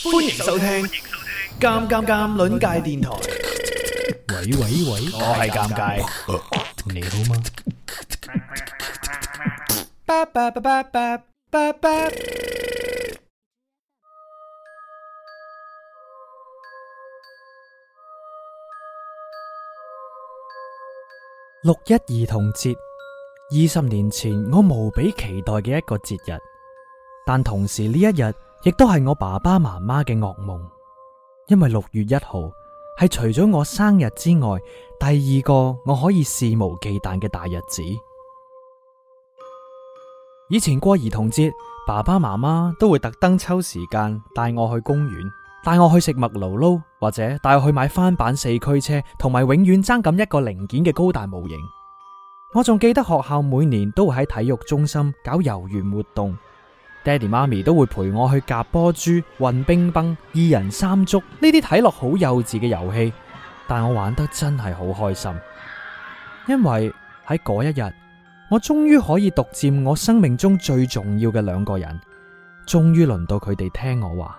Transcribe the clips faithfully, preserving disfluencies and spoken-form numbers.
歡迎收聽《尷尷尷》鄰界電台。 喂喂喂， 我係尷尬， 你好嗎？ 巴巴巴巴巴巴巴。 六一兒童節，二十年前我無比期待嘅一個節日，但同時呢一日亦都係我爸爸媽媽嘅噩夢，因為六月一號係除咗我生日之外第二個我可以肆無忌憚嘅大日子。以前過兒童節，爸爸媽媽都會特登抽時間帶我去公園，帶我去食麥勞撈，或者帶我去買翻版四驅車同埋永遠爭咁一個零件嘅高達模型。我仲記得學校每年都會喺體育中心搞遊園活動，爹哋媽咪都會陪我去夾波珠、運冰崩、二人三足呢啲睇落好幼稚嘅遊戲，但我玩得真係好開心，因為喺嗰一日，我終於可以獨佔我生命中最重要嘅兩個人，終於輪到佢哋聽我話。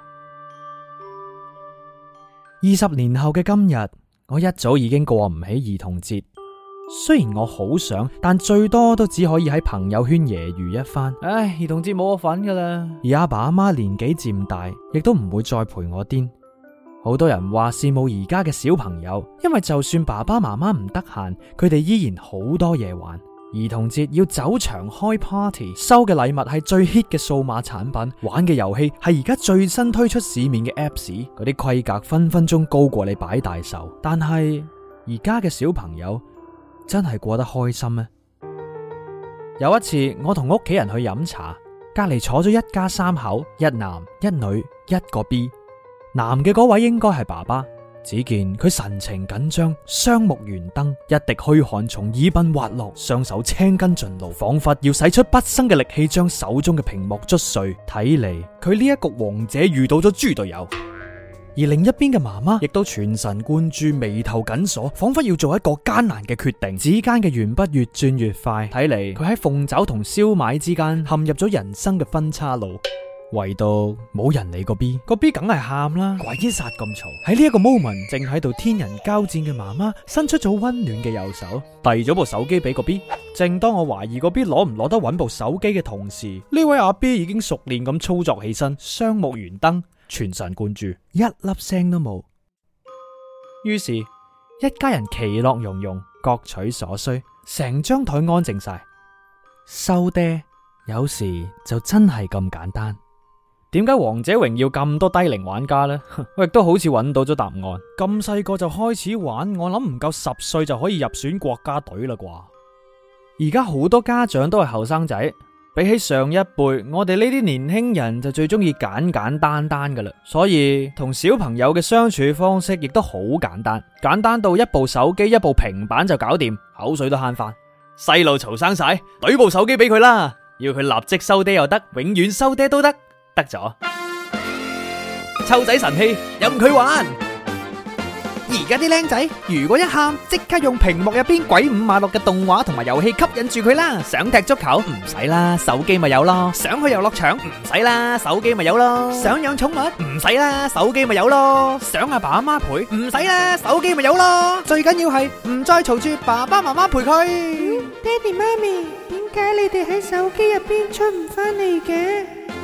二十年後嘅今日，我一早已經過唔起兒童節。雖然我好想，但最多都只可以喺朋友圈揶揄一番。唉，兒童節冇我份噶啦。而阿爸阿媽年紀漸大，亦都唔會再陪我癲。好多人話羨慕而家嘅小朋友，因為就算爸爸媽媽唔得閒，佢哋依然好多嘢玩。兒童節要走場開 party， 收嘅禮物係最 hit 嘅數碼產品，玩嘅遊戲係而家最新推出市面嘅 apps， 嗰啲規格分分鐘高過你擺大壽。但係而家嘅小朋友真係過得開心咩？有一次我同屋企人去飲茶，隔籬坐咗一家三口，一男一女一個 B。 男嘅嗰位應該係爸爸，只見佢神情緊張，雙目圓瞪，一滴虛汗從耳鬢滑落，雙手青筋盡露，仿佛要使出畢生嘅力氣將手中嘅屏幕捽碎。睇嚟佢呢一局王者遇到咗豬隊友。而另一邊嘅媽媽亦都全神貫注，眉頭緊鎖，仿佛要做一個艱難嘅決定。指間嘅鉛筆越轉越快，睇嚟佢喺鳳爪同燒賣之間陷入咗人生嘅分岔路。唯獨冇人理個 B， 個 B 梗係喊啦，鬼殺咁嘈。喺呢一個 moment， 正喺度天人交戰嘅媽媽伸出咗溫暖嘅右手，遞咗部手機俾個 B。正當我懷疑個 B 攞唔攞得穩部手機嘅同時，呢位阿 B 已經熟練咁操作起身，雙目圓瞪，全神貫注，一粒聲都冇。於是，一家人其樂融融，各取所需，成張台安靜晒。收爹，有時就真係咁簡單。點解王者榮耀咁多低齡玩家呢？我亦都好似揾到咗答案。咁細個就開始玩，我諗唔夠十歲就可以入選國家隊啦啩。而家好多家長都係後生仔。比起上一輩，我哋呢啲年輕人就最中意簡簡單單噶啦，所以同小朋友嘅相處方式亦都好簡單，簡單到一部手機、一部平板就搞掂，口水都慳翻。細路嘈生晒，懟部手機俾佢啦，要佢立即收爹又得，永遠收爹都得，得咗。湊仔神器，任佢玩。而家啲僆仔如果一喊，即刻用屏幕入邊鬼五馬六嘅動畫同埋遊戲吸引住佢啦。想踢足球唔使啦，手機咪有咯。想去遊樂場唔使啦，手機咪有咯。想養寵物唔使啦，手機咪有咯。想阿爸阿媽陪唔使啦，手機咪有咯。最緊要係唔再嘈住爸爸媽媽陪佢。 嗯，爹哋媽咪，點解你哋喺手機入邊出唔翻嚟嘅？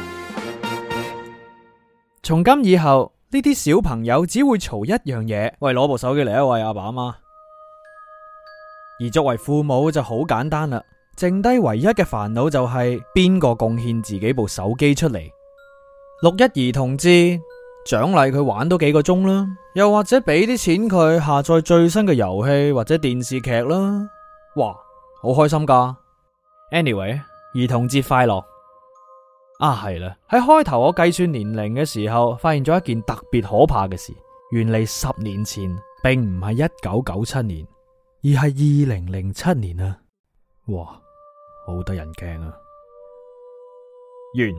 從今以後，呢啲小朋友只會嘈一樣嘢，喂，攞部手機嚟啊，喂，阿爸阿媽。而作為父母就好簡單啦，剩低唯一嘅煩惱就係邊個貢獻自己部手機出嚟。六一兒童節獎勵佢玩多幾個鐘啦，又或者俾啲錢佢下載最新嘅遊戲或者電視劇啦。哇，好開心噶。Anyway， 兒童節快樂。啊，係啦！喺開頭我計算年齡嘅時候，發現咗一件特別可怕嘅事。原嚟十年前並唔係一九九七年，而係二零零七年啊！哇，好得人驚啊！完。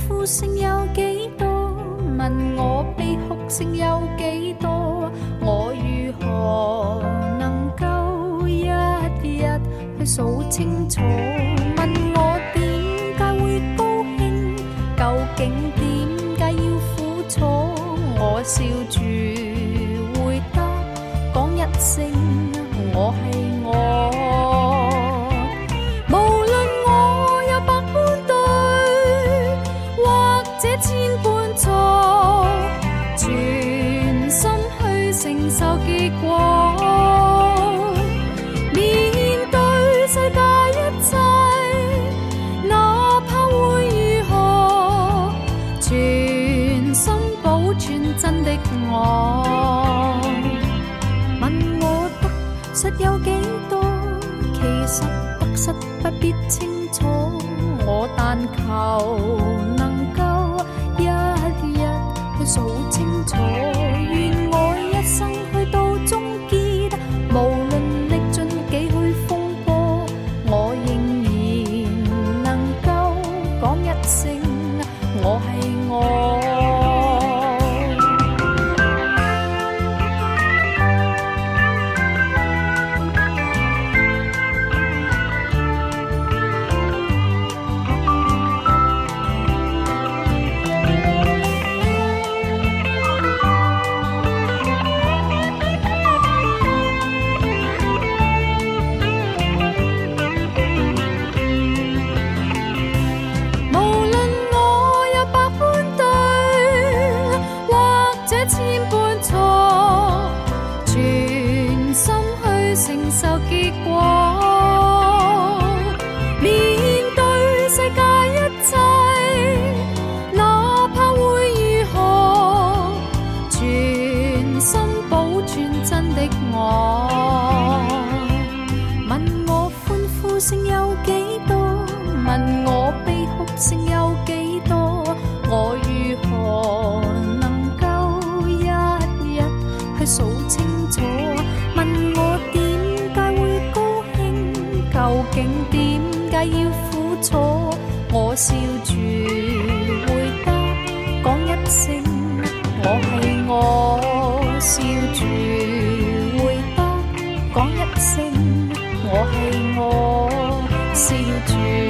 呼聲有幾多？問我悲哭聲有幾多？我如何能夠一日去數清楚？問我點解會高興？究竟點解要苦楚？我笑住回答，講一聲我係我。無論我有百般對，或者千般錯，全心去承受結果。面對世界一切，哪怕會如何，全心保存真的我。問我得失有幾多？其實得失不必清楚，我但求能夠一日去數清楚。願我一生去到終結，無論歷盡幾許風波，我仍然能夠講一聲我係我。聲有幾多？問我悲哭聲有幾多？我如何能夠一日去數清楚？問我點解會高興？究竟點解要苦楚？我笑住回答，講一聲我係我。笑住回答，講一聲我係我。笑住